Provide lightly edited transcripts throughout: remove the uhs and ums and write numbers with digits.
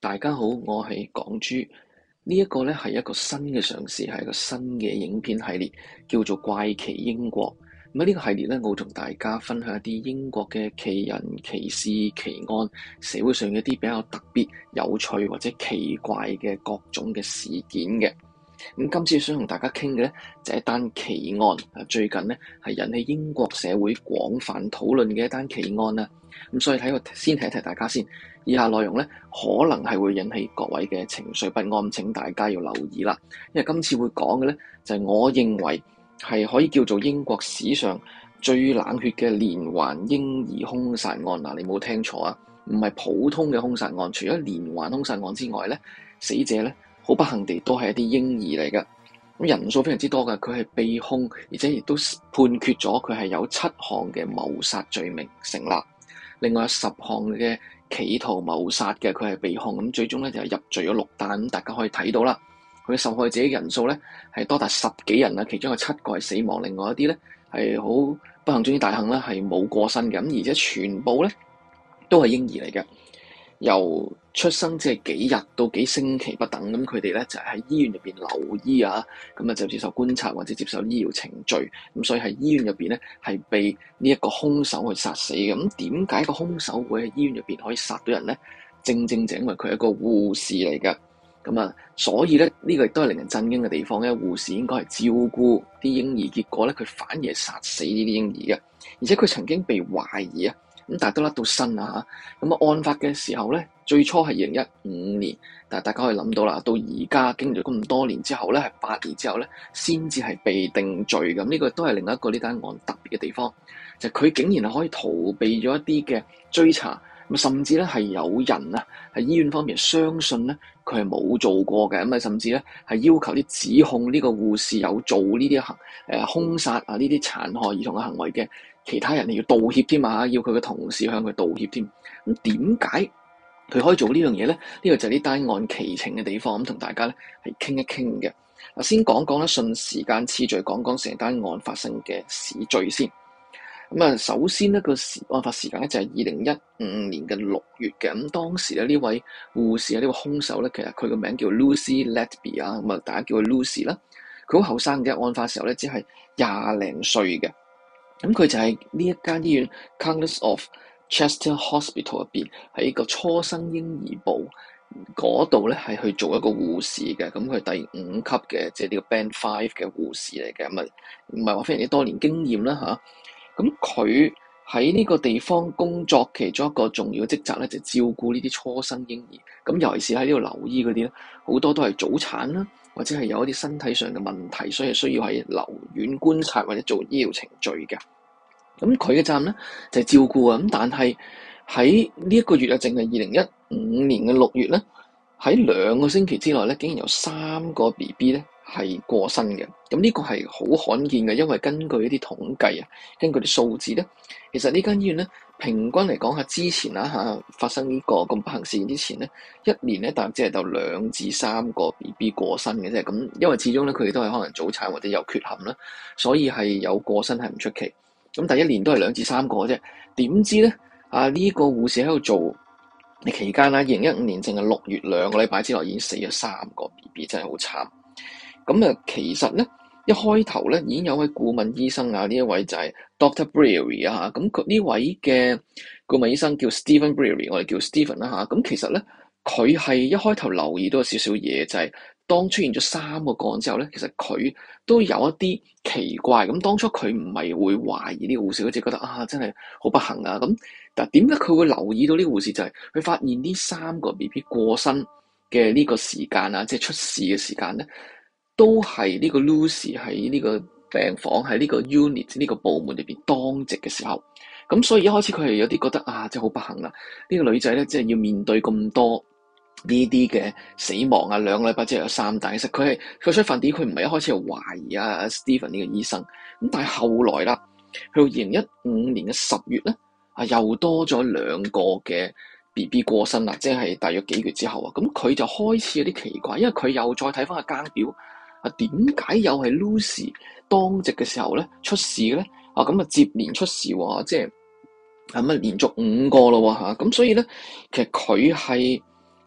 大家好，我係港豬。呢一個呢係一個新嘅嘗試，係一個新嘅影片系列，叫做怪奇英國。咁呢個系列呢，我會同大家分享一啲英國嘅奇人、奇事、奇案，社會上一啲比較特別、有趣或者奇怪嘅各種嘅事件嘅。咁今次想同大家傾嘅呢，就係一單奇案。最近呢，係引起英國社會廣泛討論嘅一單奇案啦。咁所以先提一提大家先，以下內容呢，可能係會引起各位嘅情緒不安，請大家要留意啦。因為今次會講嘅呢，就係我認為係可以叫做英國史上最冷血嘅連環嬰兒兇殺案。嗱，你冇聽錯啊，唔係普通嘅兇殺案。除咗連環兇殺案之外呢，死者呢，好不幸地都係一啲嬰兒嚟嘅，咁人數非常之多嘅。佢係被控，而且亦都判決咗佢係有7項嘅謀殺罪名成立，另外有10項嘅企圖謀殺嘅佢係被控，咁最終咧就係入罪咗6單。咁大家可以睇到啦，佢嘅受害者嘅人數咧係多達10幾人啦，其中有7個係死亡，另外一啲咧係好不幸中之大幸啦，係冇過身嘅，咁而且全部咧都係嬰兒嚟嘅。由出生即係幾日到幾星期不等，咁佢哋咧就係喺醫院入邊留醫啊，咁啊就接受觀察或者接受醫療程序，咁所以喺醫院入邊咧係被呢一個兇手去殺死嘅。咁點解個兇手會喺醫院入邊可以殺到人咧？正就因為佢係一個護士嚟嘅，咁啊，所以咧呢個亦都係令人震驚嘅地方咧。護士應該係照顧啲嬰兒，結果咧佢反而係殺死呢啲嬰兒嘅，而且佢曾經被懷疑啊。咁但係都甩到身啊嚇！咁案發嘅時候咧，最初係2015年，但係大家可以諗到啦，到而家經歷咗咁多年之後咧，係8年之後咧，先至係被定罪咁。呢個都係另一個呢單案特別嘅地方，就係佢竟然係可以逃避咗一啲嘅追查，咁甚至咧係有人啊喺醫院方面相信咧佢係冇做過嘅，咁啊甚至咧係要求啲指控呢個護士有做呢啲兇殺啊呢啲殘害兒童嘅行為嘅其他人係要道歉添啊，要佢嘅同事向佢道歉添。咁點解佢可以做呢樣嘢咧？呢個就係呢單案奇情嘅地方，咁同大家咧係傾一傾嘅。嗱，先講講啦，順時間次序講講成單案發生嘅時序先。咁啊，首先呢個案發時間咧就係2015年嘅6月嘅。咁當時咧呢位護士啊，呢個兇手咧，其實佢個名叫 Lucy Letby 啊，咁啊大家叫佢 Lucy 啦。佢好後生嘅，案發時候咧只係20零歲嘅。咁佢就係呢一間醫院 Countess of Chester Hospital 入邊喺個初生嬰兒部嗰度咧係去做一個護士嘅。咁佢第5級嘅，即係呢個 Band 5嘅護士嚟嘅。咁啊唔係話非常之多年經驗啦嚇。咁佢喺呢個地方工作，其中一個重要嘅職責咧就照顧呢啲初生嬰兒。咁尤其是喺呢度留醫嗰啲咧，好多都係早產啦，或者係有一啲身體上嘅問題，所以需要喺留院觀察或者做醫療程序嘅。咁佢嘅責任咧就係照顧啊。咁但係喺呢一個月啊，淨係2015年嘅6月咧，喺2個星期之內咧，竟然有3個 BB 咧係過身嘅。咁呢個係好罕見嘅，因為根據一啲統計啊，根據啲數字咧，其實呢間醫院咧平均嚟講下之前發生呢個咁不幸事件之前咧，一年咧大約只係到2至3個 BB 過身嘅啫。咁因為始終咧佢哋都係可能早產或者有缺陷啦，所以係有過身係唔出奇。咁第一年都係2至3個啫。點知咧呢個護士喺度做期間啦，2015年淨係6月2個禮拜之內已經死咗3個 BB， 真係好慘。咁啊，其實咧一開頭咧已經有位顧問醫生啊，呢一位就係 Dr. Breary 啊，咁佢呢位嘅顧問醫生叫 Stephen Breary， 我哋叫 Stephen 啦嚇。咁其實咧佢係一開頭留意到少少嘢，就係當出現咗3個個案之後咧，其實佢都有一啲奇怪。咁當初佢唔係會懷疑呢個護士，佢只覺得真係好不幸啊。咁但係點解佢會留意到呢個護士？就係佢發現呢3個 BB 過身嘅呢個時間啊，即係出事嘅時間咧，都係呢個 Lucy 喺呢個病房喺呢個 unit 呢個部門裏邊當值嘅時候。咁所以一開始佢係有啲覺得真係好不幸啦。呢個女仔咧，即係要面對咁多呢啲嘅死亡啊，2個禮拜之後有3單。其實佢出發點，佢唔係一開始係懷疑Stephen 呢個醫生。咁但係後來啦，去到2015年嘅10月咧，又多咗2個嘅 BB 過身啦，即係大約幾月之後啊。咁佢就開始有啲奇怪，因為佢又再睇翻個更表，點解又係 Lucy 當值嘅時候咧出事嘅咧？咁接連出事喎，即係連續5個咯喎嚇。咁所以咧，其實佢係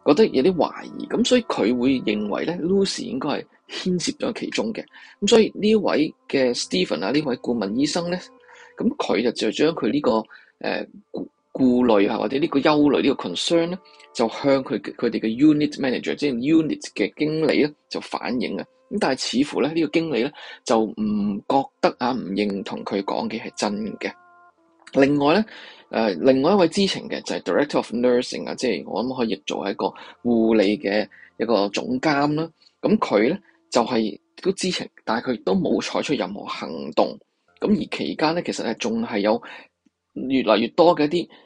覺得有啲懷疑，咁所以佢會認為咧 Lucy 應該係牽涉咗其中嘅。咁所以呢位嘅 Stephen 啊，呢位顧問醫生咧，咁佢就將佢呢個顧慮或者呢個憂慮呢個 concern 咧，就向佢哋嘅 unit manager，即係 unit 嘅經理咧，就反映啊。咁但係似乎咧呢個經理咧就唔覺得唔認同佢講嘅係真嘅。另外咧，另外一位知情嘅就係 Director of Nursing 啊，即係我諗可以譯做係一個護理嘅一個總監啦。咁佢咧就係都知情，但係佢都冇採取任何行動。咁而期間咧，其實仲係有越嚟越多嘅一啲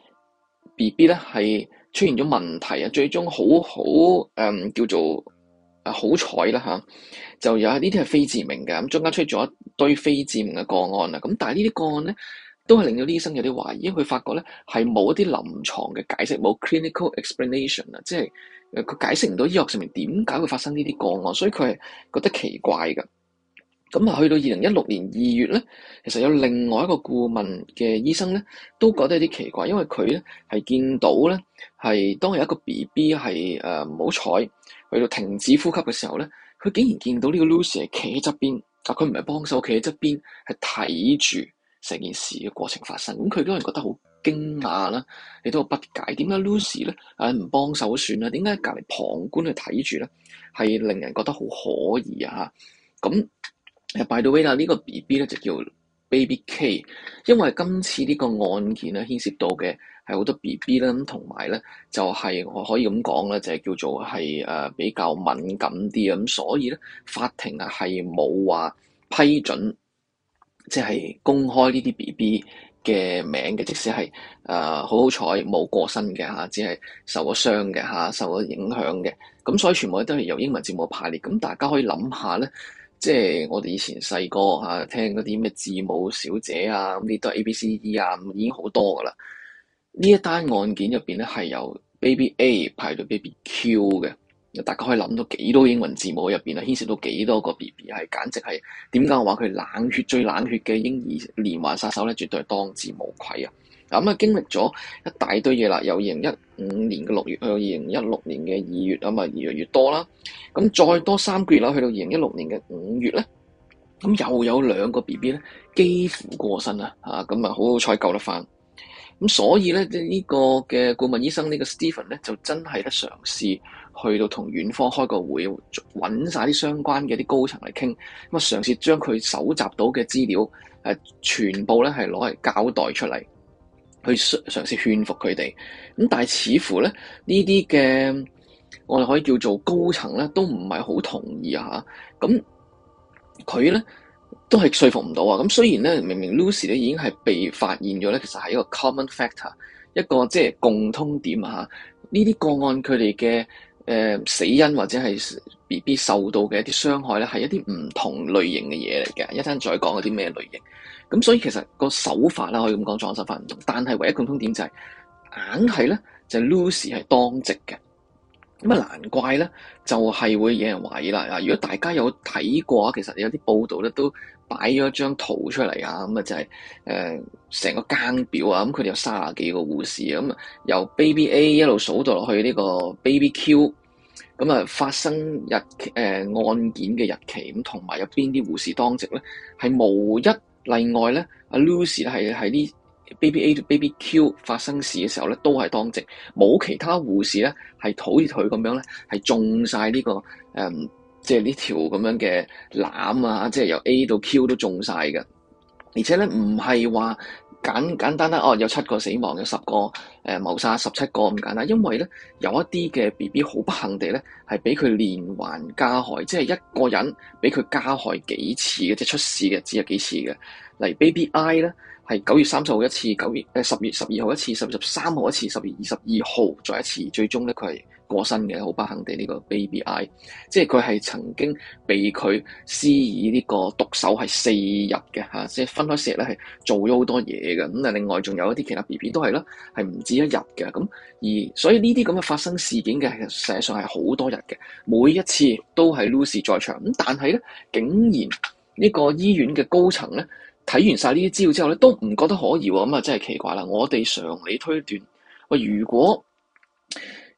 BB 咧係出現咗問題啊，最終叫做好彩啦嚇，就有呢啲係非致命嘅。咁中間出咗一堆非致命嘅個案啦。咁但係呢啲個案咧，都係令到醫生有啲懷疑，因為佢發覺咧係冇一啲臨床嘅解釋，冇 clinical explanation 啊，即係佢解釋唔到醫學上面點解會發生呢啲個案，所以佢係覺得奇怪㗎。咁啊，去到2016年2月咧，其實有另外一個顧問嘅醫生咧，都覺得有啲奇怪，因為佢咧係見到咧係當有一個 BB 係唔好彩去到停止呼吸嘅時候咧，佢竟然見到呢個 Lucy 係企喺側邊，佢唔係幫手，企喺側邊係睇住成件事嘅過程發生。咁佢當然覺得好驚訝啦，亦都好不解，點解 Lucy 咧唔幫手算啦？點解隔離旁觀去睇住咧？係令人覺得好可疑啊！咁by the way 啦，呢個 BB 咧就叫 Baby K， 因為今次呢個案件咧牽涉到嘅係好多 BB 啦，咁同埋咧就係我可以咁講咧，就係叫做係比較敏感啲啊，咁所以咧法庭啊係冇話批准，即係公開呢啲 BB 嘅名嘅，即使係好彩冇過身嘅嚇，只係受咗傷嘅嚇，受咗影響嘅，咁所以全部都係由英文字母排列。咁大家可以諗下咧。即係我哋以前細個聽嗰啲咩字母小姐啊，咁啲都係 A B C D 啊，已經好多噶啦。呢一單案件入邊咧係由 Baby A 排到 Baby Q 嘅，大家可以諗到幾多英文字母入邊啊，牽涉到幾多個 BB，係簡直係點解我話佢冷血最冷血嘅嬰兒連環殺手咧，絕對係當之無愧啊！經歷咗一大堆嘢啦，由2015年嘅6月去到2016年嘅2月，越嚟越多啦。咁再多3個月啦，去到2016年嘅5月咧，咁又有2個 BB 咧幾乎過身啦，咁好彩救得翻。咁所以咧呢個嘅顧問醫生呢個 Stephen 咧就真係咧嘗試去到同院方開個會，揾晒啲相關嘅啲高層嚟傾，咁嘗試將佢搜集到嘅資料全部咧係攞嚟交代出嚟。去嘗試勸服佢哋，咁但係似乎咧呢啲嘅我哋可以叫做高層咧都唔係好同意啊嚇，咁佢咧都係說服唔到啊。咁雖然咧明明 Lucy 咧已經係被發現咗咧，其實係一個 common factor， 一個即係共通點啊嚇。呢啲個案佢哋嘅死因或者係 BB 受到嘅一啲傷害咧，係一啲唔同類型嘅嘢嚟嘅，一陣再講嗰啲咩類型。咁所以其實個手法啦，可以咁講，裝手法唔同，但係唯一共通點就係硬係咧，就係 Lucy 係當值嘅。咁難怪咧，就係會有人懷疑啦。如果大家有睇過啊，其實有啲報道咧都擺咗一張圖出嚟啊，咁就係成個更表啊，咁佢哋有30幾個護士啊，咁由 Baby A 一路數到落去呢個 Baby Q，咁發生案件嘅日期，咁同埋有邊啲護士當值咧，係無一例外咧，阿 Lucy 係喺啲 Baby A 到 Baby Q 發生事嘅時候咧，都係當值，冇其他護士咧係好似佢咁樣咧，係中晒呢個即係呢條咁樣嘅籃啊，即係由 A 到 Q 都中晒嘅，而且咧唔係話簡單啦，有7個死亡，有10個謀殺，17個咁簡單，因為咧有一啲嘅 BB 好不幸地咧係俾佢連環加害，即係一個人俾佢加害幾次嘅，即係出事嘅只有幾次嘅。例如 Baby I 咧係9月30號一次，10月12號一次，10月13號一次，10月22號再一次，最終咧佢係過身嘅，好不幸地呢個 Baby I， 即係佢係曾經被佢施以呢個毒手係4日嘅嚇，即係分開4日咧係做咗好多嘢嘅。咁另外仲有一啲其他 BB 都係啦，係唔止1日嘅。咁而所以呢啲咁嘅發生事件嘅，實際上係好多日嘅，每一次都係 Lucy 在場。咁但係咧，竟然呢個醫院嘅高層咧睇完晒呢啲資料之後咧，都唔覺得可疑喎。咁真係奇怪啦。我哋常理推斷，如果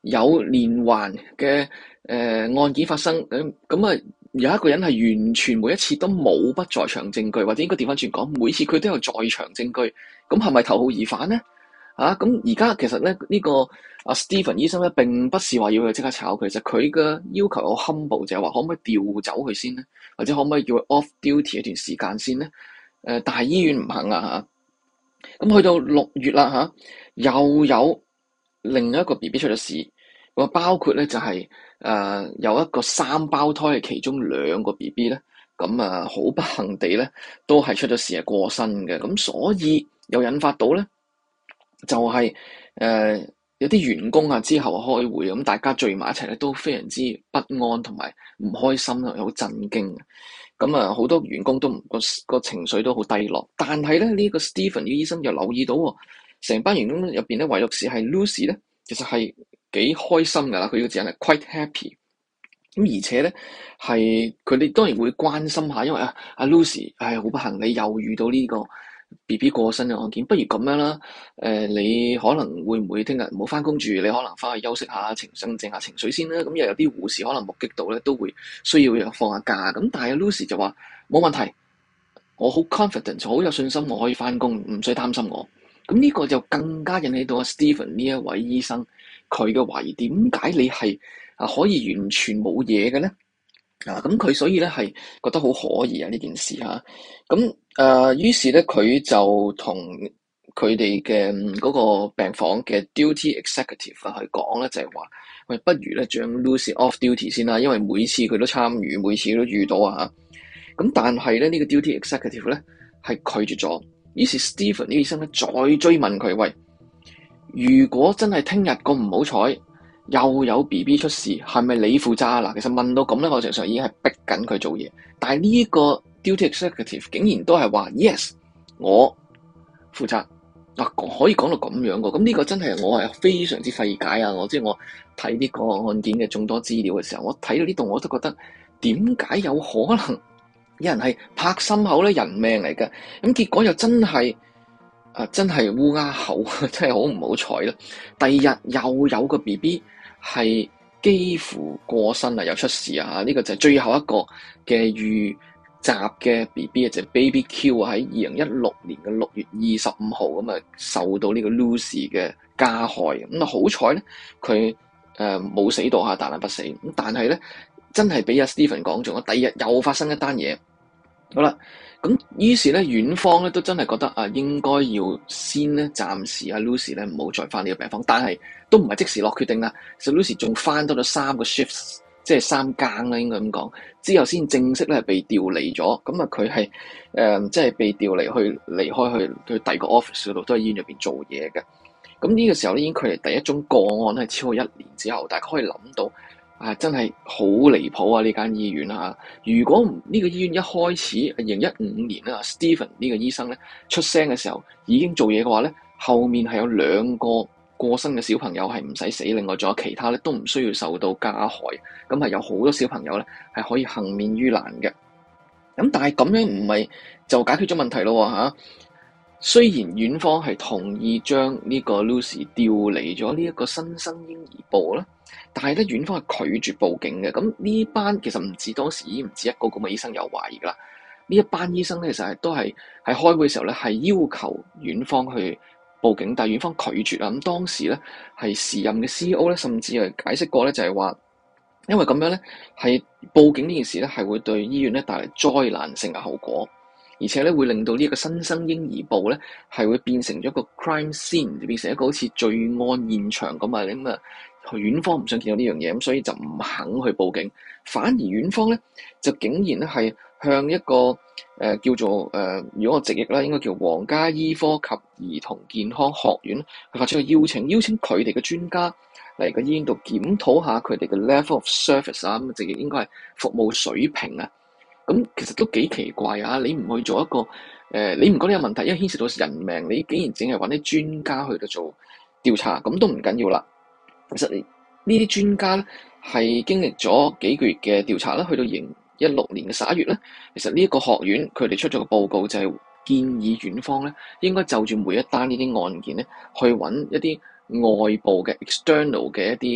有連環嘅案件發生，咁啊有一個人係完全每一次都冇不在場證據，或者應該調翻轉講，每次佢都有在場證據，咁係咪頭號疑犯咧？咁而家其實咧呢個Stephen 醫生咧並不是話要佢即刻炒佢，其實佢嘅要求好 humble，就係話可唔可以調走佢先咧，或者可唔可以叫佢 off duty 一段時間先咧？但係醫院唔肯啊嚇，咁去到6月啦嚇，又有另一個 BB 出咗事，咁包括咧就係有一個3胞胎嘅其中2個 BB 咧，咁好不幸地咧都係出咗事係過身嘅，咁所以又引發到咧就係有啲員工啊之後開會，咁大家聚埋一齊咧都非常之不安同埋唔開心啦，好震驚。咁好多員工都個情緒都好低落，但係咧呢個 Stephen 呢個醫生又留意到喎，成班員工入邊咧唯獨是係 Lucy 咧，其實係幾開心噶啦，佢呢個字眼係 quite happy。咁而且咧係佢哋當然會關心下，因為阿 Lucy 好不幸，你又遇到呢個 BB 過身嘅案件，不如咁樣啦，你可能會唔會聽日唔好翻工住，你可能翻去休息下，鎮靜下情緒先啦。咁又有啲護士可能目擊到咧，都會需要放下假。咁但係 Lucy 就話冇問題，我好 confident， 好有信心，我可以翻工，唔使擔心我。咁呢個就更加引起到阿 Stephen 呢一位醫生佢嘅懷疑，點解你係可以完全冇嘢嘅咧？咁佢所以咧係覺得好可疑啊呢件事嚇。咁於是咧佢就同佢哋嘅嗰個病房嘅 duty executive 去講咧，就係話喂，不如咧將 Lucy off duty 先啦，因為每次佢都參與，每次都遇到啊。咁但係咧呢個 duty executive 咧係拒絕咗。於是 Stephen 呢個醫生咧再追問佢，喂，如果真係聽日咁唔好彩，又有 BB 出事，係咪你負責啊？嗱，其實問到咁咧，我實際上已經係逼緊佢做嘢。但係呢個 duty executive 竟然都係話 yes， 我負責。可以講到咁樣嘅，咁呢個真係我係非常之費解啊！我睇呢個案件嘅眾多資料嘅時候，我睇到呢度我都覺得點解有可能有人係拍心口咧，人命嚟嘅，咁結果又真係烏鴉口，真係好唔好彩啦！第二日又有個 BB 係幾乎過身啦，又出事啊！呢個就係最後一個嘅遇襲嘅 BB 就係 Baby Q 喺2016年嘅6月25號咁受到呢個 Lucy 嘅加害，咁好彩咧佢冇死到大難不死，咁但係咧真係俾阿 Stephen 講中，第二日又發生一單嘢。好啦，咁於是咧，院方咧都真係覺得應該要先咧暫時Lucy 咧唔好再翻呢個病房，但係都唔係即時落決定啦。其實 Lucy 仲翻多咗3個 shifts，即係3更啦，應該咁講，之後先正式咧被調離咗。咁佢係即係被調離離開去第二個 office 嗰度，都喺醫院入邊做嘢嘅。咁呢個時候咧已經距離第一宗個案係超過1年之後，大家可以諗到。真係好離譜啊！呢間醫院如果呢個醫院一開始2015年啦，Stephen 呢個醫生咧出聲嘅時候已經做嘢嘅話咧，後面係有2個過身嘅小朋友係唔使死，另外仲有其他咧都唔需要受到加害，咁係有好多小朋友咧係可以幸免於難嘅。咁但係咁樣唔係就解決咗問題咯嚇。雖然院方係同意將呢個 Lucy 調離咗呢一個新生嬰兒部啦，但係咧院方係拒絕報警嘅。咁呢班其實唔止當時已經唔止一個咁嘅醫生有懷疑噶啦。呢一班醫生咧其實都係喺開會嘅時候咧係要求院方去報警，但係院方拒絕啦。咁當時咧係時任嘅 CEO 咧甚至係解釋過咧，就係話因為咁樣咧係報警呢件事咧係會對醫院咧帶嚟災難性嘅後果。而且咧會令到呢一個新生嬰兒部咧係會變成咗一個 crime scene， 變成一個好似罪案現場咁啊！咁院方唔想見到呢樣嘢，咁所以就唔肯去報警。反而院方咧就竟然咧係向一個叫做如果我直譯啦，應該叫皇家醫科及兒童健康學院去發出個邀請佢哋嘅專家嚟個醫院度檢討下佢哋嘅 level of service 啊，咁直譯應該係服務水平啊。咁其實都幾奇怪啊！你唔去做一個你唔覺得有問題，因為牽涉到人命，你竟然淨係揾啲專家去到做調查，咁都唔緊要啦。其實呢啲專家咧係經歷咗幾個月嘅調查啦，去到2016年嘅11月咧，其實呢一個學院佢哋出咗個報告，就係建議院方咧應該就住每一單呢啲案件咧，去揾一啲外部嘅 external 嘅一啲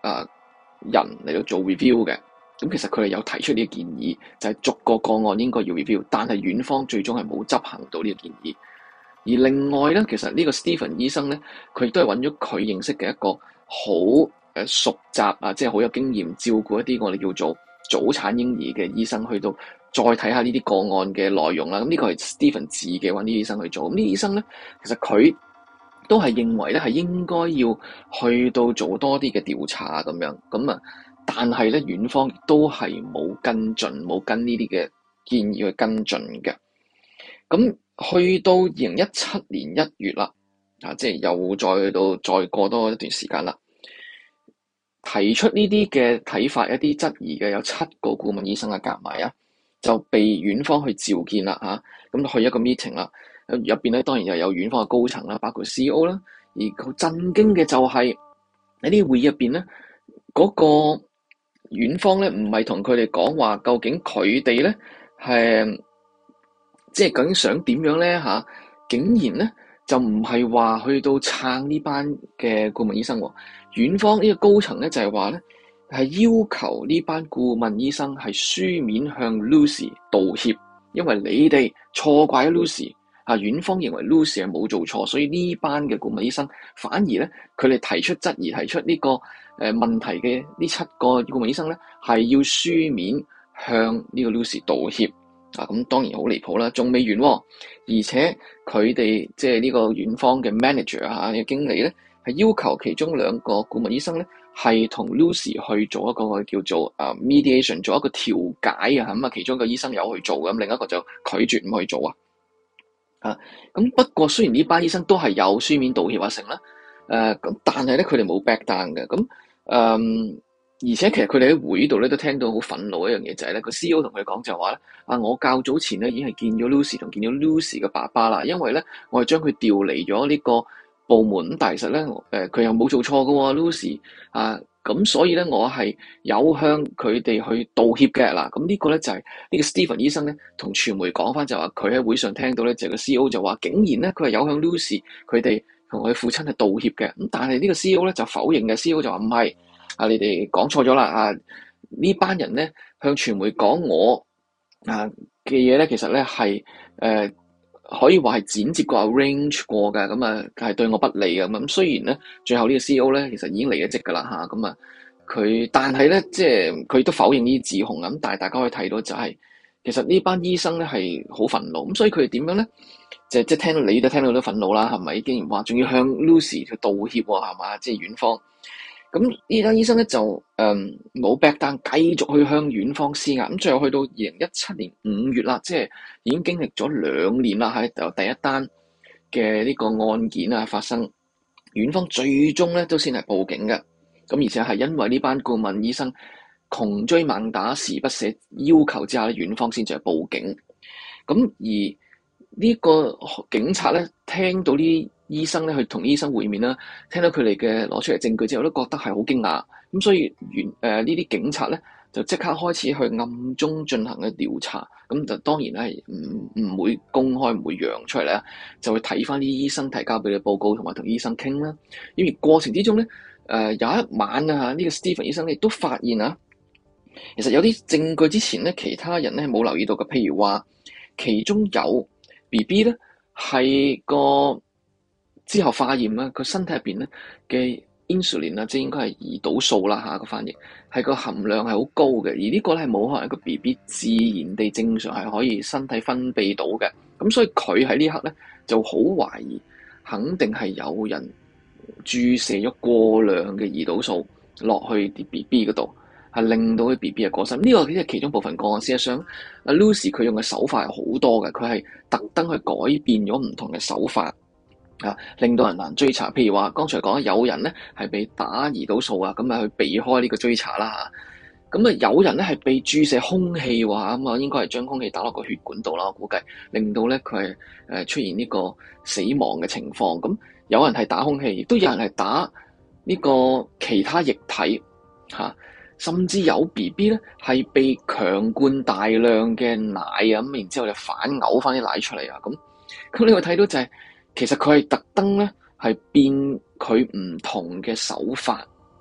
人嚟到做 review 嘅。咁其實佢哋有提出呢個建議，就係逐個個案應該要 review，但係院方最終係冇執行到呢個建議。而另外咧，其實呢個 Stephen 醫生咧，佢亦都係揾咗佢認識嘅一個好熟習即係好有經驗照顧一啲我哋叫做早產嬰兒嘅醫生，去到再睇下呢啲個案嘅內容啦。咁呢個係 Stephen 自己揾啲醫生去做。咁呢啲醫生咧，其實佢都係認為咧係應該要去到做多啲嘅調查咁樣。咁但係咧院方都係冇跟進，冇跟呢啲嘅建議去跟進嘅。咁去到2017年1月啦，即係又再過多一段時間啦，提出呢啲嘅睇法、一啲質疑嘅有7個顧問醫生嘅夾埋就被院方去召見啦咁去一個 meeting 啦，入邊咧當然又有院方嘅高層啦，包括 CEO 啦，而好震驚嘅就係喺呢啲會議入邊咧，嗰個院方咧唔係同佢哋講話，究竟佢哋咧係即係究竟想點樣咧竟然咧就唔係話去到撐呢班嘅顧問醫生喎，院方呢個高層咧就係話咧係要求呢班顧問醫生係書面向 Lucy 道歉，因為你哋錯怪咗 Lucy。院方認為 Lucy 係冇做錯，所以呢班嘅顧問醫生反而咧，佢哋提出質疑、提出呢個問題嘅呢7個顧問醫生咧，係要書面向呢個 Lucy 道歉。咁當然好離譜啦，仲未完喎，而且佢哋即係呢個院方嘅 manager 嘅經理咧，係要求其中2個顧問醫生咧，係同 Lucy 去做一個叫做mediation， 做一個調解咁其中一個醫生有去做，咁另一個就拒絕唔去做咁不過雖然呢班醫生都係有書面道歉成啦，咁但係咧佢哋冇 back down 嘅，咁而且其實佢哋喺會度咧都聽到好憤怒一樣嘢，就係咧個 CEO 同佢講就話咧我較早前咧已經係見咗 Lucy 同見咗 Lucy 嘅爸爸啦，因為咧我係將佢調離咗呢個部門，但係其實咧佢又冇做錯㗎喎 Lucy 咁所以咧我係有向佢哋去道歉嘅嗱，咁呢個咧就係呢個 Stephen 醫生咧同傳媒講翻就話佢喺會上聽到咧就係個 CEO 就話竟然咧佢係有向 Lucy 佢哋同佢父親係道歉嘅，咁但係呢個 CEO 咧就否認嘅 CEO 就話唔係你哋講錯咗啦呢班人咧向傳媒講我嘅嘢咧其實咧係可以話係剪接過 arrange 過嘅，咁係對我不利嘅咁。雖然咧，最後呢個 CEO 咧其實已經離咗職㗎啦咁佢但係咧即係佢都否認呢啲指控咁。但係大家可以睇到就係其實呢班醫生咧係好憤怒咁，所以佢哋點樣咧？即係聽到你都聽到都憤怒啦，係咪？竟然話仲要向 Lucy 去道歉喎，係嘛？即係院方。咁呢單醫生咧就冇 back down，繼續去向院方施壓。咁最後去到2017年5月啦，即係已經經歷咗2年啦，由第一單嘅呢個案件發生，院方最終咧都先係報警嘅。咁而且係因為呢班顧問醫生窮追猛打、時不捨要求之下咧，院方先至係報警。咁而呢個警察咧聽到呢醫生咧去同醫生會面啦，聽到佢哋嘅攞出嚟證據之後，都覺得係好驚訝。咁所以呢啲警察咧就即刻開始去暗中進行嘅調查。咁就當然係唔會公開，唔會揚出嚟啦，就會睇翻啲醫生提交俾你報告，同埋同醫生傾啦。因為過程之中咧，有一晚呢個 Stephen 醫生亦都發現其實有啲證據之前咧其他人咧冇留意到嘅，譬如話其中有 BB 咧係個之後化驗啦，個身體入邊咧嘅 insulin 即係應該係胰島素啦個翻譯係個含量係好高嘅，而呢個咧係冇可能一個 BB 自然地正常係可以身體分泌到嘅，咁所以佢喺呢刻咧就好懷疑，肯定係有人注射咗過量嘅胰島素落去啲 BB 嗰度，係令到啲 BB 嘅過身。呢個只係其中部分個案。事實上，Lucy 佢用嘅手法係好多嘅，佢係特登去改變咗唔同嘅手法令到人難追查。譬如話，剛才講有人咧係被打胰島素咁去避開呢個追查啦。咁有人咧係被注射空氣喎，咁應該係將空氣打落個血管度啦，我估計令到咧佢係出現呢個死亡嘅情況。咁有人係打空氣，亦都有人係打呢個其他液體甚至有 BB 咧係被強灌大量嘅奶咁，然之後就反嘔翻啲奶出嚟咁你會睇到就係其實佢係特登咧係變佢唔同嘅手法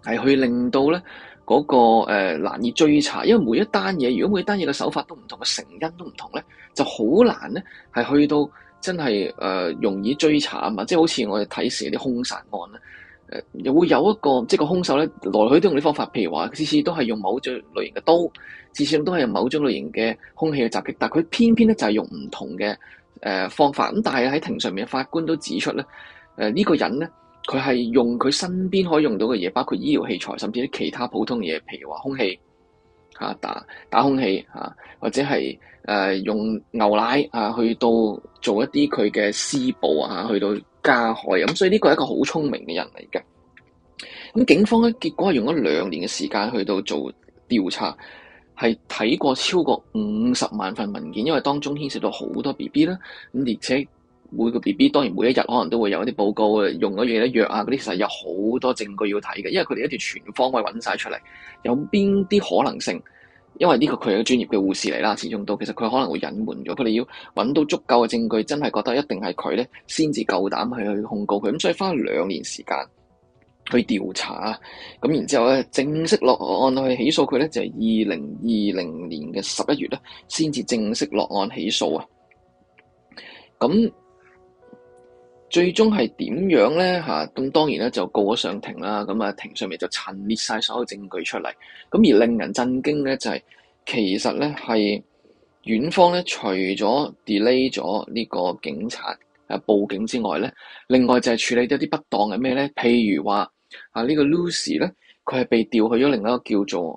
係去令到咧嗰個難以追查，因為每一單嘢，如果每一單嘢嘅手法都唔同，嘅成因都唔同咧，就好難咧係去到真係容易追查啊嘛！即係好似我哋睇時啲兇殺案咧，又會有一個即係個兇手咧來去都用啲方法，譬如話次次都係用某種類型嘅刀，次次都係用某種類型嘅兇器去襲擊，但係佢偏偏咧就係用唔同嘅方法。咁但係喺庭上面嘅法官都指出咧，呢個人咧。佢係用佢身邊可以用到嘅嘢，包括醫療器材，甚至啲其他普通嘢，譬如話兇器打兇器或者係用牛奶去到做一啲佢嘅施暴去到加害咁，所以呢個係一個好聰明嘅人嚟嘅。咁警方咧結果係用咗2年嘅時間去到做調查，係睇過超過50萬份文件，因為當中牽涉到好多 BB 啦，咁而且。每個 BB 當然每一日可能都會有一啲報告用咗嘢藥嗰啲，其實有好多證據要睇嘅，因為佢哋一定要全方位揾晒出嚟，有邊啲可能性？因為呢個佢係個專業嘅護士嚟啦，始終都其實佢可能會隱瞞咗，佢哋要揾到足夠嘅證據，真係覺得一定係佢咧，先至夠膽去控告佢，咁所以花2年時間去調查，咁然之後咧正式落案去起訴佢咧，就係2020年嘅11月咧，先至正式落案起訴啊，咁。最終係點樣咧？咁當然咧就告咗上庭啦。咁庭上面就陳列晒所有證據出嚟。咁而令人震驚咧就係、其實咧係院方咧除咗 delay 咗呢個警察報警之外咧，另外就係處理咗啲不當嘅咩咧？譬如話呢個 Lucy 咧，佢係被調去咗另一個叫做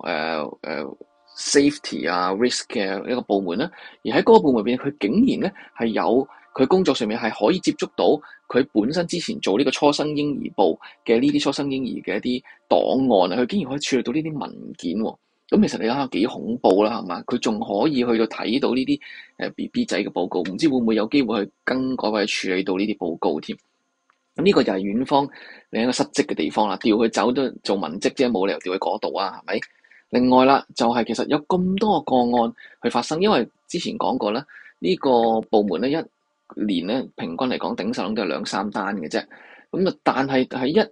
safety risk 嘅一個部門啦。而喺嗰個部門入邊，佢竟然咧係有。佢工作上面係可以接觸到佢本身之前做呢個初生嬰兒部嘅呢啲初生嬰兒嘅一啲檔案啊，佢竟然可以處理到呢啲文件喎。咁其實你諗下幾恐怖啦，係嘛？佢仲可以去到睇到呢啲BB 仔嘅報告，唔知會唔會有機會去更改或者處理到呢啲報告添？咁呢個就係院方另一個失職嘅地方啦，調佢走都做文職啫，冇理由調去嗰度啊，係咪？另外啦，就係其實有咁多個案去發生，因為之前講過啦，呢個部門咧年咧平均嚟講頂手都係2-3單嘅啫，咁啊但係喺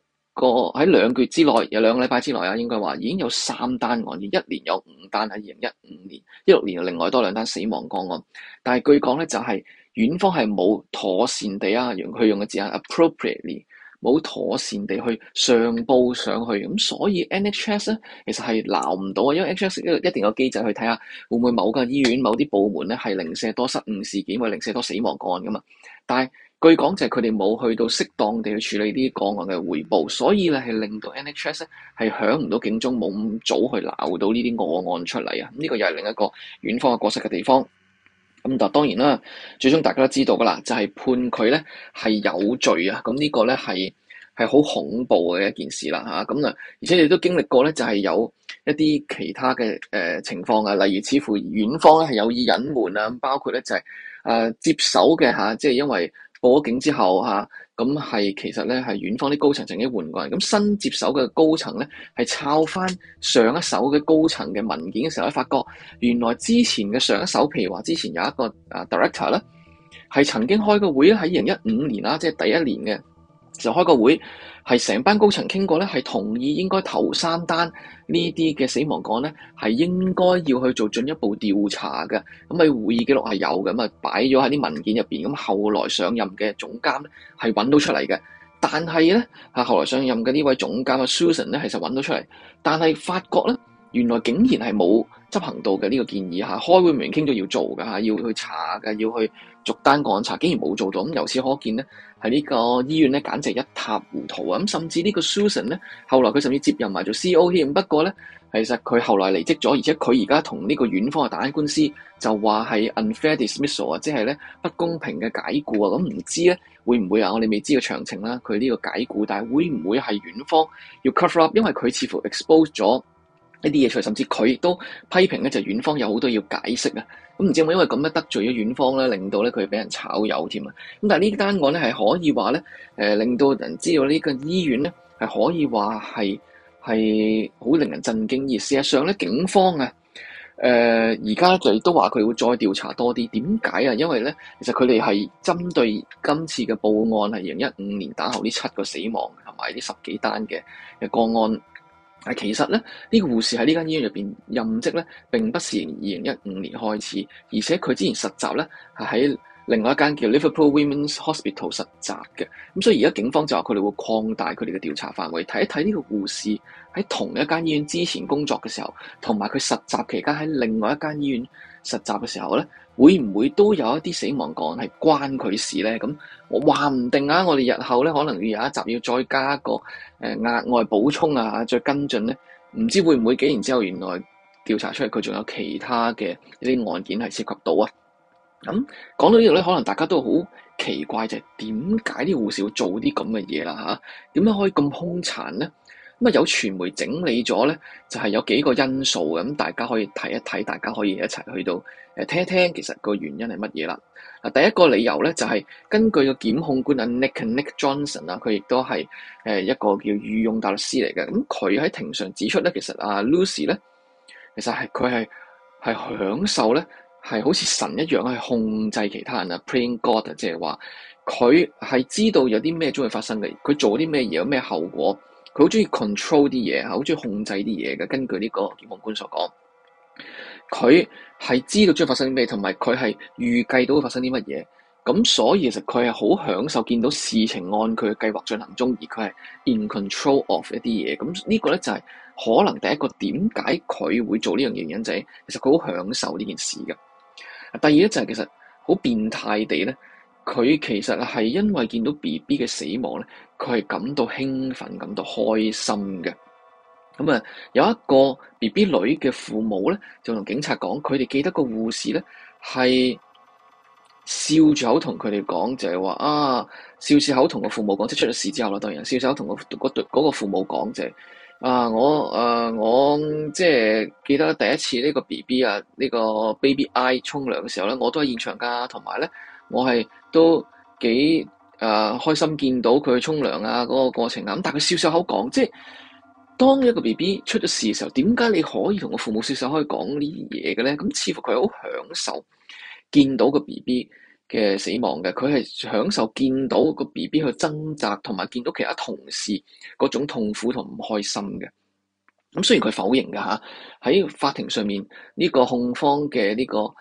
2個月之內，有2個禮拜之內應該話已經有3單案，而1年有5單喺2015年，16年又另外多2單死亡個案，但係據講咧就係院方係冇妥善地用嘅字眼 appropriately。冇妥善地去上報上去，咁所以 NHS 咧其實係鬧唔到啊，因為 NHS 一定有機制去睇下會唔會某個醫院某啲部門咧係零舍多失誤事件或者零舍多死亡個案噶嘛，但係據講就係佢哋冇去到適當地去處理啲個案嘅匯報，所以咧係令到 NHS 咧係響唔到警鐘，冇咁早去鬧到呢啲個案出嚟啊，呢個又係另一個院方嘅過失嘅地方。咁但當然啦，最終大家都知道噶啦，就係判佢咧係有罪啊！咁呢個咧係好恐怖嘅一件事啦嚇。咁而且亦都經歷過咧，就係有一啲其他嘅情況啊，例如似乎院方咧係有意隱瞞啊，包括咧就係接手嘅嚇，即係因為報咗警之後嚇。咁係其實咧係院方啲高層曾經換過人，咁新接手嘅高層咧係抄翻上一手嘅高層嘅文件嘅時候咧，發覺原來之前嘅上一手，譬如話之前有一個director 咧，係曾經開個會咧，喺2015年啦，即係第一年嘅就開個會，係成班高層傾過咧，係同意應該頭3單呢啲嘅死亡個案咧，係應該要去做進一步調查嘅。咁喺會議記錄係有嘅，咁擺咗喺啲文件入邊。咁後來上任嘅總監咧係揾到出嚟嘅，但係咧後來上任嘅呢位總監Susan 咧，其實揾到出嚟，但係發覺咧原來竟然係冇執行到嘅呢個建議嚇。開會明明傾咗要做嘅嚇，要去查嘅，要去逐單個案查，竟然冇做到。咁由此可見咧，喺呢個醫院咧簡直一塌糊塗啊！咁甚至呢個 Susan 咧，後來佢甚至接任埋做 CEO 添。不過咧，其實佢後來離職咗，而且佢而家同呢個院方打緊官司，就話係 unfair dismissal 啊，即係咧不公平嘅解僱啊。咁唔知咧會唔會我哋未知嘅詳情啦。佢呢個解僱，但係會唔會係院方要 cover up？因為佢似乎 expose 咗呢啲嘢出嚟，甚至佢亦都批評咧，就院方有好多要解釋啊。咁唔知有冇因為咁樣得罪咗院方咧，令到咧佢俾人炒魷添啊？咁但係呢單案咧係可以話咧，令到人知道呢個醫院咧係可以話係好令人震驚。而事實上咧，警方而家就都話佢會再調查多啲。點解啊？因為咧，其實佢哋係針對今次嘅報案係2015年打後呢7個死亡同埋呢10幾單嘅個案。 其實咧，呢個護士喺呢間醫院入邊任職咧，並不是2015年開始，而且佢之前實習咧係喺另外一間叫 Liverpool Women's Hospital 實習嘅。咁所以而家警方就話佢哋會擴大佢哋嘅調查範圍，睇一睇呢個護士喺同一間醫院之前工作嘅時候，同埋佢實習期間喺另外一間醫院實習嘅時候咧，會唔會都有一啲死亡個案係關佢事咧？咁我話唔定啊，我哋日後咧可能要有一集要再加一個額外補充啊，再跟進咧，唔知會唔會幾年之後原來調查出嚟佢仲有其他嘅一啲案件係涉及到啊？咁講到呢度咧，可能大家都好奇怪，就係點解啲護士會做啲咁嘅嘢啦嚇？點解可以咁兇殘咧？咁啊有傳媒整理咗咧，就係有幾個因素嘅，咁大家可以睇一睇，大家可以一齊去到聽一聽，其實個原因係乜嘢啦？第一個理由咧就係根據個檢控官Nick Johnson 啊，佢亦都係一個叫御用大律師嚟嘅。咁佢喺庭上指出咧，其實Lucy 咧，其實佢係享受咧，係好似神一樣去控制其他人啊 ，playing God 啊，即係話佢係知道有啲咩將會發生嘅，佢做啲咩嘢有咩後果。佢好中意 control 啲嘢，好中意控制啲嘢嘅。根據呢個檢控官所講，佢係知道將會發生啲咩，同埋佢係預計到會發生啲乜嘢。咁所以其實佢係好享受見到事情按佢嘅計劃進行中，而佢係 in control of 一啲嘢。咁呢個咧就係可能第一個點解佢會做呢樣嘢原因，就係其實佢好享受呢件事嘅。第二咧就係其實好變態地咧。佢其實係因為見到 BB 嘅死亡咧，佢係感到興奮、感到開心嘅。咁啊，有一個 BB 女嘅父母咧，就同警察講，佢哋記得個護士咧係笑住口同佢哋講，就係話笑住口同個父母講，即係出咗事之後啦，當然笑住口同嗰個父母講就係我即係記得第一次呢個 BB 呢個 Baby I 沖涼嘅時候咧，我都喺現場㗎，同埋咧。我係都幾開心見到佢沖涼嗰個過程啊，咁但係佢笑笑口講，即係當一個 BB 出咗事嘅時候，點解你可以同個父母笑笑可以講呢啲嘢嘅咧？咁似乎佢好享受見到個 BB 嘅死亡嘅，佢係享受見到個 BB 去掙扎，同埋見到其他同事嗰種痛苦同唔開心嘅。咁雖然佢否認㗎嚇，喺法庭上面呢個控方嘅呢個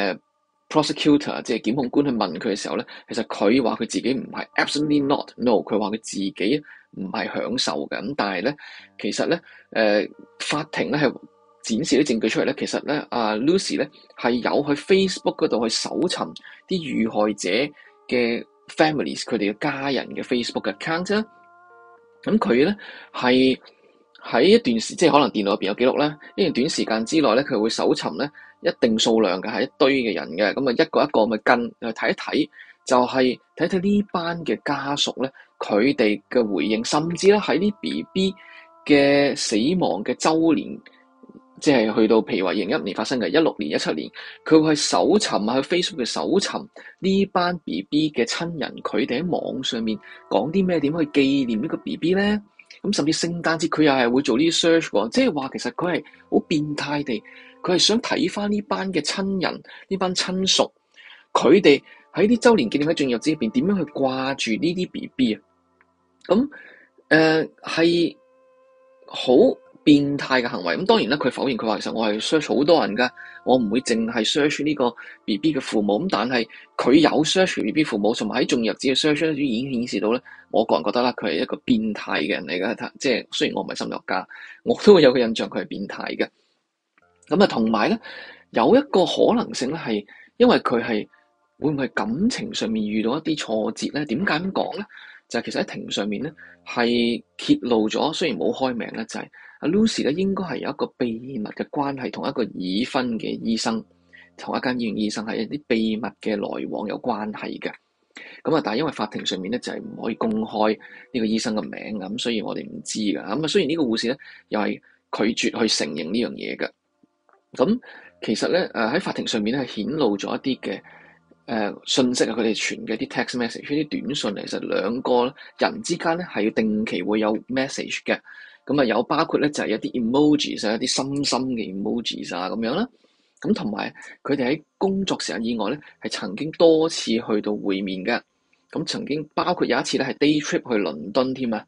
prosecutor 即係檢控官去問佢嘅時候咧，其實佢話佢自己唔係 absolutely not no，佢話佢自己唔係享受嘅。咁但係咧，其實咧法庭咧係展示啲證據出嚟咧，其實咧Lucy 咧係有去 Facebook 嗰度去搜尋啲遇害者嘅 families 佢哋嘅家人嘅 Facebook 嘅 account 啦。咁佢咧係喺一段時，即係可能電腦入邊有記錄啦，一段短時間之內咧，佢會搜尋咧一定數量嘅係一堆嘅人嘅，咁啊一個一個咪跟去睇一睇，就係睇睇呢班嘅家屬咧，佢哋嘅回應，甚至咧喺啲 BB 嘅死亡嘅週年，即係去到譬如話2015年發生嘅16年、17年，佢會去搜尋喺 Facebook 嘅搜尋呢班 BB 嘅親人，佢哋喺網上面講啲咩，點去紀念呢個 BB 咧？咁甚至聖誕節佢又係會做呢啲 search 喎，即係話其實佢係好變態地，佢係想睇翻呢班嘅親人、呢班親屬，佢哋喺啲週年紀念喺進入之入邊點樣去掛住呢啲 BB 啊？咁係好變態嘅行為。咁當然啦，佢否認，佢話其實我係 search 好多人㗎，我唔會淨係 search 呢個 BB 嘅父母。咁但係佢有 search BB 父母，同埋喺進入子嘅 search 已經顯示到咧，我個人覺得啦，佢係一個變態嘅人嚟嘅。即係雖然我唔係心理學家，我都會有個印象佢係變態嘅。咁啊，同埋咧有一個可能性咧，係因為佢係會唔會感情上面遇到一啲挫折咧？點解咁講咧？就係其實喺庭上面咧係揭露咗，雖然冇開名咧，就係阿 Lucy 咧應該係有一個秘密嘅關係，同一個已婚嘅醫生，同一間醫院醫生係一啲秘密嘅來往有關係嘅。咁啊，但係因為法庭上面咧就係唔可以公開呢個醫生嘅名咁，所以我哋唔知㗎。咁啊，雖然呢個護士咧又係拒絕去承認呢樣嘢嘅。咁其實咧喺法庭上面咧係顯露咗一啲嘅信息啊，佢哋傳嘅啲 text message，啲短信，其實兩個人之間咧係要定期會有 message 嘅。咁啊有包括咧就係一啲 emojis 一啲深深嘅 emojis 咁樣啦。咁同埋佢哋喺工作時間以外咧係曾經多次去到會面嘅。咁曾經包括有一次咧係 day trip 去倫敦添啊。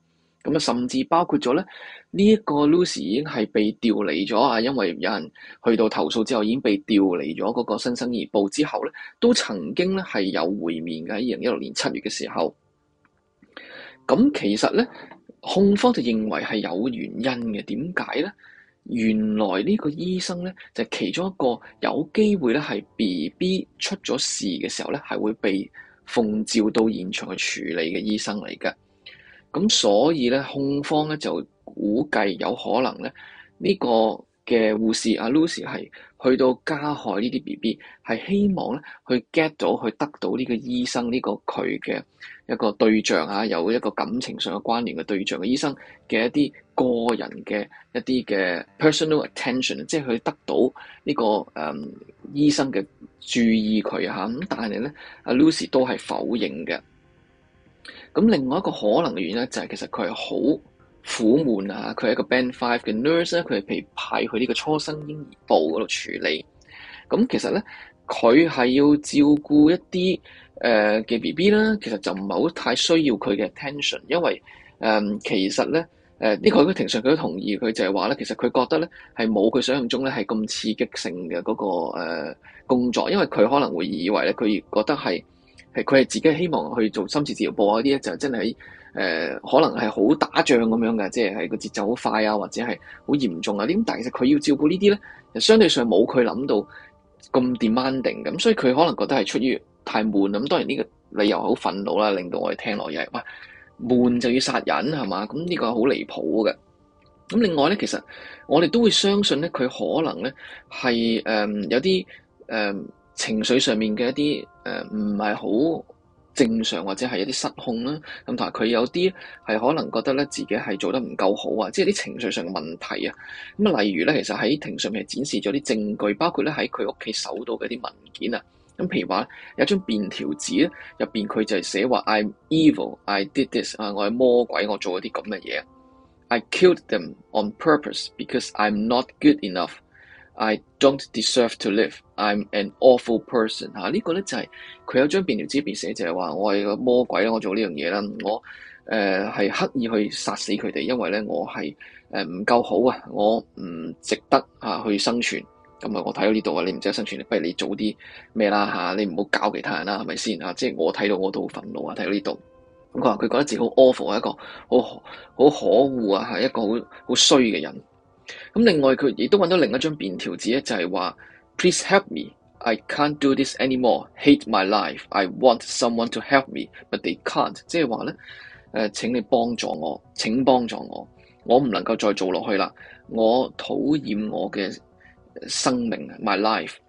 咁啊，甚至包括咗咧呢一個 Lucy 已經係被調離咗啊，因為有人去到投訴之後已經被調離咗嗰個新生兒部之後咧，都曾經咧係有會面嘅，喺2016年7月嘅時候。咁其實咧，控方就認為係有原因嘅。點解咧？原來呢個醫生咧就係其中一個有機會咧係 BB 出咗事嘅時候咧係會被奉召到現場去處理嘅醫生嚟嘅。咁所以咧，控方咧就估計有可能咧呢個嘅護士阿 Lucy 係去到加害呢啲 BB，係希望咧去 get 到去得到呢個醫生呢個佢嘅一個對象啊，有一個感情上嘅關聯嘅對象嘅醫生嘅一啲個人嘅一啲嘅 personal attention，即係佢得到呢個醫生嘅注意佢嚇。咁但係咧，阿 Lucy 都係否認嘅。咁另外一個可能嘅原因咧，就係其實佢係好苦悶啊！佢係一個 Band 5嘅 nurse 咧，佢係被派去呢個初生嬰兒部嗰度處理。咁其實咧，佢係要照顧一啲嘅 BB 啦，其實就唔係好太需要佢嘅 attention，因為其實咧呢個喺庭上佢都同意，佢就係話咧，其實佢覺得咧係冇佢想象中咧係咁刺激性嘅嗰個工作，因為佢可能會以為咧佢覺得係佢係自己希望去做深切治療部嗰啲咧，就真係可能係好打仗咁樣嘅，即係個節奏好快啊，或者係好嚴重啊啲。咁但係其實佢要照顧呢啲咧，就相對上冇佢諗到咁 demanding 咁，所以佢可能覺得係出於太悶。咁當然呢個理由好憤怒啦，令到我哋聽落又係哇悶就要殺人係嘛？咁呢個係好離譜嘅。咁另外咧，其實我哋都會相信咧，佢可能咧係有啲情緒上面嘅一啲唔係好正常，或者係一啲失控啦。咁同埋佢有啲係可能覺得咧自己係做得唔夠好啊，即係啲情緒上嘅問題啊。咁啊，例如咧，其實喺庭上面係展示咗啲證據，包括咧喺佢屋企搜到嘅啲文件啊。咁譬如話有張便條紙咧，入邊佢就係寫話 I'm evil, I did this 啊，我係魔鬼，我做咗啲咁嘅嘢。I killed them on purpose because I'm not good enough. I don't deserve to live. I'm an awful person。呢個咧就係佢有張便條紙入邊寫，就係話我係個魔鬼啦，我做呢樣嘢啦，我係刻意去殺死佢哋，因為咧我係唔夠好啊，我唔值得去生存。咁啊，我睇到呢度啊，你唔值得生存，不如你做啲咩啦嚇，你唔好搞其他人啦，係咪先啊？即係我睇到我都好憤怒啊，睇到呢度。咁佢話佢覺得自己好 awful，係一個好可惡啊，係一個好衰嘅人。咁另外佢亦都揾到另一張便條紙咧，就係話 Please help me, I can't do this anymore. Hate my life. I want someone to help me, but they can't。即係話咧，請你幫助我，請幫助我，我唔能夠再做落去啦。我討厭我嘅生命 ，my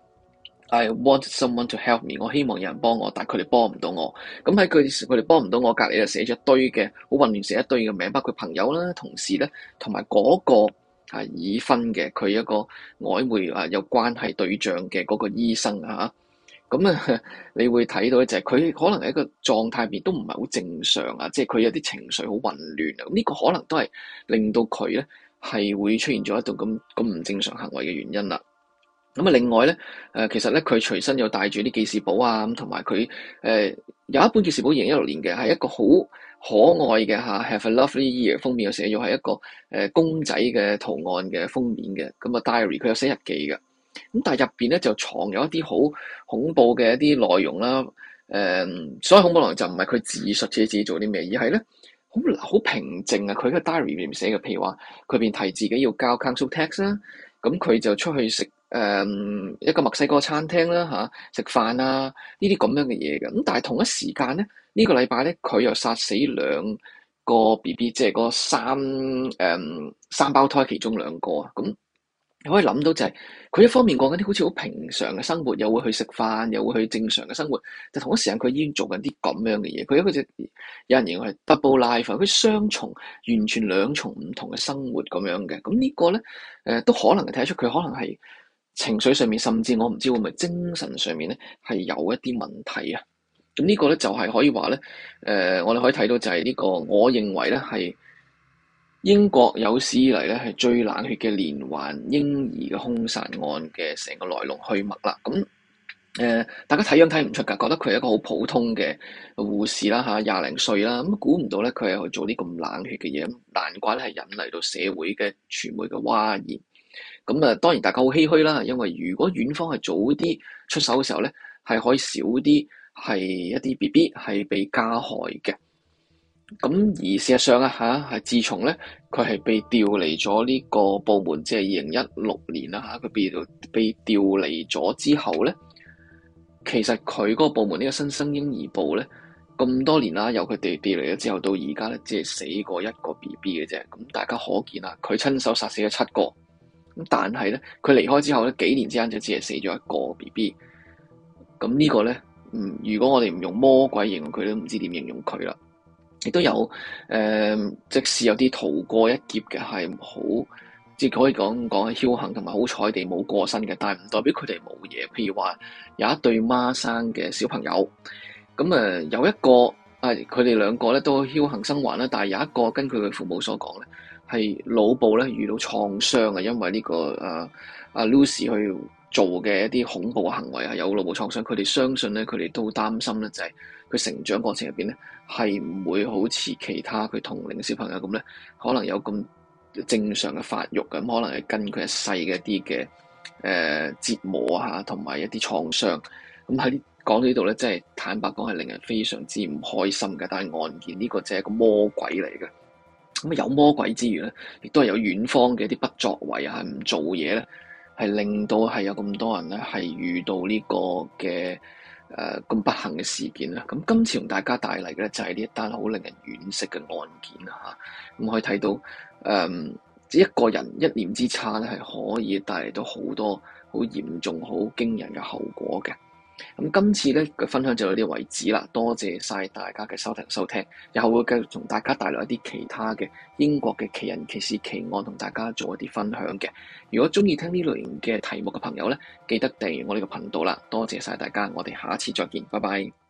life。I want someone to help me。我希望有人幫我，但係佢哋幫唔到我。咁喺佢哋幫唔到我隔離就寫咗一堆嘅好混亂，寫一堆嘅名，包括朋友啦、同事咧，同埋嗰個已婚嘅佢一個曖昧有關係對象嘅嗰個醫生啊。咁你會睇到咧，就係佢可能喺一個狀態入邊都唔係好正常啊，即係佢有啲情緒好混亂啊。咁呢個可能都係令到佢咧係會出現咗一種咁唔正常行為嘅原因啦。咁啊，另外咧，其實咧佢隨身有帶住啲記事簿啊，咁同埋佢有一本記事簿2016年嘅，係一個好可愛嘅Have a lovely year 封面又寫咗係一個公仔嘅圖案嘅封面嘅，咁啊 diary 佢有寫日記嘅，咁但係入邊咧就藏有一啲好恐怖嘅一啲內容啦。所謂恐怖內容就唔係佢自述自己做啲咩，而係咧好平靜啊。佢嘅 diary 裏面寫嘅，譬如話佢便提自己要交 council tax 啦，咁佢就出去食一個墨西哥餐廳啦食飯啊呢啲咁樣嘅嘢嘅。咁但係同一時間咧，呢個禮拜咧佢又殺死2個 BB， 即係嗰三胞胎其中2個啊。咁你可以諗到就係佢一方面過緊啲好似好平常嘅生活，又會去食飯，又會去正常嘅生活，就同一時間佢已經做緊啲咁樣嘅嘢。佢一個有人形容係 double life，佢雙重完全2重唔同嘅生活咁樣嘅。咁呢個咧都可能係睇得出佢可能係情緒上面，甚至我唔知會唔會精神上面咧係有一啲問題啊。咁呢個咧就係可以話咧，我哋可以睇到就係呢個，我認為咧係英國有史以嚟咧係最冷血嘅連環嬰兒嘅兇殺案嘅成個來龍去脈啦。咁大家睇樣睇唔出㗎，覺得佢係一個好普通嘅護士啦嚇，廿零歲啦，咁估唔到咧佢係去做啲咁冷血嘅嘢，難怪咧係引嚟到社會嘅傳媒嘅譁然。咁當然大家好唏噓啦，因為如果院方係早啲出手嘅時候咧，係可以少啲係一啲 BB 係被加害嘅。咁而事實上係自從咧佢係被調離咗呢個部門，即係2016年啦佢被調離咗之後咧，其實佢嗰個部門呢個新生嬰兒部咧，咁多年啦，由佢哋調離咗之後到而家咧，只係死過一個 BB 嘅啫。咁大家可見啦，佢親手殺死咗7個。咁但係咧，佢離開之後咧，幾年之間就只係死咗一個 BB。咁呢個咧，如果我哋唔用魔鬼形容佢，都唔知點形容佢啦。亦都有即使有啲逃過一劫嘅係好，即係可以講係僥倖同埋好彩地冇過身嘅，但係唔代表佢哋冇嘢。譬如話有一對孖生嘅小朋友，咁有一個佢哋兩個咧都僥倖生還啦，但係有一個根據佢父母所講咧，係腦部咧遇到創傷啊，因為呢個Lucy 去做嘅一啲恐怖嘅行為有腦部創傷，佢哋相信咧，佢哋都擔心咧，就係佢成長過程入邊咧，係唔會好似其他佢同齡嘅小朋友咁咧，可能有咁正常嘅發育，咁可能係跟佢一世嘅一啲嘅折磨同埋一啲創傷。咁喺講到呢度咧，真係坦白講係令人非常之唔開心嘅。但係案件呢個就係一個魔鬼嚟嘅。咁有魔鬼之餘咧，亦都係有院方嘅一啲不作為唔做嘢咧，係令到係有咁多人咧係遇到呢個嘅咁不幸嘅事件啦。咁今次同大家帶嚟嘅咧就係呢一單好令人惋惜嘅案件啦嚇。咁可以睇到一個人一念之差咧係可以帶嚟到好多好嚴重、好驚人嘅後果嘅。咁今次咧嘅分享就到呢度為止啦，多謝晒大家嘅收聽，日後會繼續同大家帶來一啲其他嘅英國嘅奇人奇事奇案，同大家做一啲分享嘅。如果中意聽呢類型嘅題目嘅朋友咧，記得訂閱我呢個頻道啦，多謝晒大家，我哋下一次再見，拜拜。